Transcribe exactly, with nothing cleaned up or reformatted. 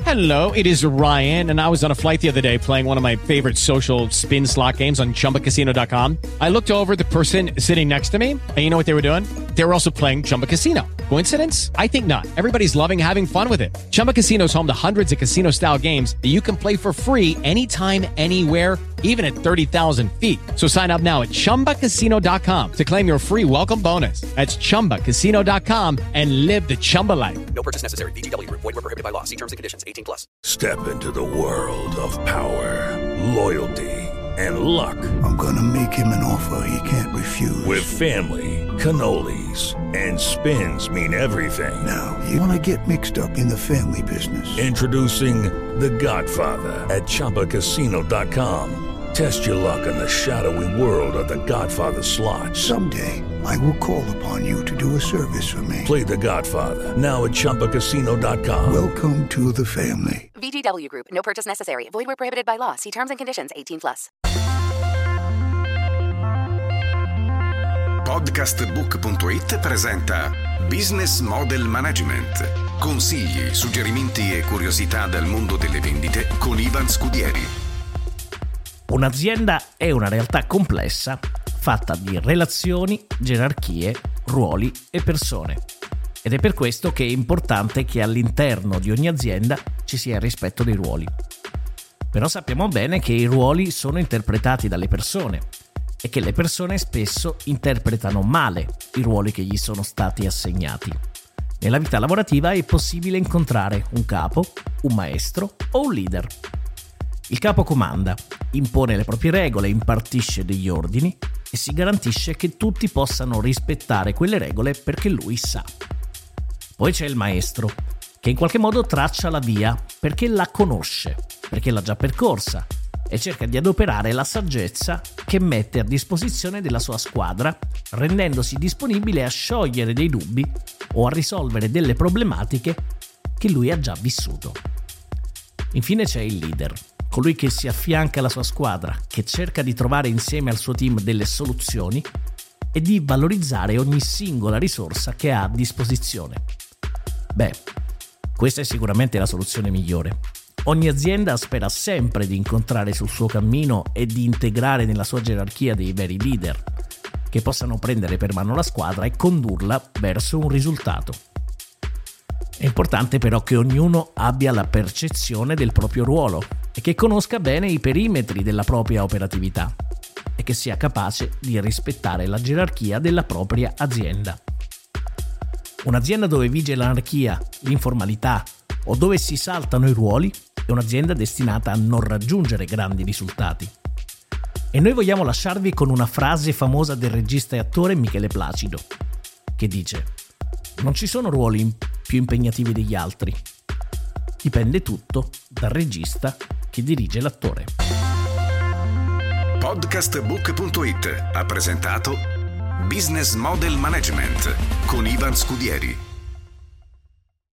Hello, it is Ryan, and I was on a flight the other day playing one of my favorite social spin slot games on Chumba Casino dot com. I looked over at the person sitting next to me, and you know what they were doing? They were also playing Chumba Casino. Coincidence? I think not. Everybody's loving having fun with it. Chumba Casino is home to hundreds of casino-style games that you can play for free anytime, anywhere, even at thirty thousand feet. So sign up now at Chumba Casino dot com to claim your free welcome bonus. That's Chumba Casino dot com and live the Chumba life. No purchase necessary. V G W. Void where prohibited by law. See terms and conditions. eighteen plus. Step into the world of power, loyalty, and luck. I'm gonna make him an offer he can't refuse. With family, cannolis, and spins mean everything. Now, you wanna get mixed up in the family business. Introducing The Godfather at Chumba Casino dot com. Test your luck in the shadowy world of The Godfather slot. Someday, I will call upon you to do a service for me. Play The Godfather, now at Chumba Casino dot com. Welcome to the family. V G W Group. No purchase necessary. Void where prohibited by law. See terms and conditions. eighteen plus. Podcastbook punto it presenta Business Model Management. Consigli, suggerimenti e curiosità dal mondo delle vendite con Ivan Scudieri. Un'azienda è una realtà complessa fatta di relazioni, gerarchie, ruoli e persone. Ed è per questo che è importante che all'interno di ogni azienda ci sia il rispetto dei ruoli. Però sappiamo bene che i ruoli sono interpretati dalle persone e che le persone spesso interpretano male i ruoli che gli sono stati assegnati. Nella vita lavorativa è possibile incontrare un capo, un maestro o un leader. Il capo comanda, impone le proprie regole, impartisce degli ordini e si garantisce che tutti possano rispettare quelle regole perché lui sa. Poi c'è il maestro, che in qualche modo traccia la via perché la conosce, perché l'ha già percorsa e cerca di adoperare la saggezza che mette a disposizione della sua squadra, rendendosi disponibile a sciogliere dei dubbi o a risolvere delle problematiche che lui ha già vissuto. Infine c'è il leader, colui che si affianca alla sua squadra, che cerca di trovare insieme al suo team delle soluzioni e di valorizzare ogni singola risorsa che ha a disposizione. Beh, questa è sicuramente la soluzione migliore. Ogni azienda spera sempre di incontrare sul suo cammino e di integrare nella sua gerarchia dei veri leader, che possano prendere per mano la squadra e condurla verso un risultato. È importante però che ognuno abbia la percezione del proprio ruolo e che conosca bene i perimetri della propria operatività e che sia capace di rispettare la gerarchia della propria azienda. Un'azienda dove vige l'anarchia, l'informalità o dove si saltano i ruoli è un'azienda destinata a non raggiungere grandi risultati. E noi vogliamo lasciarvi con una frase famosa del regista e attore Michele Placido, che dice: non ci sono ruoli più impegnativi degli altri. Dipende tutto dal regista che dirige l'attore. Podcastbook punto it ha presentato Business Model Management con Ivan Scudieri.